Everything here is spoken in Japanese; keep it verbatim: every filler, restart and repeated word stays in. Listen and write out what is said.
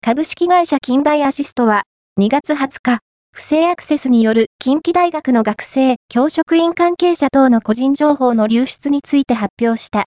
株式会社近代アシストは、にがつはつか、不正アクセスによる近畿大学の学生、教職員関係者等の個人情報の流出について発表した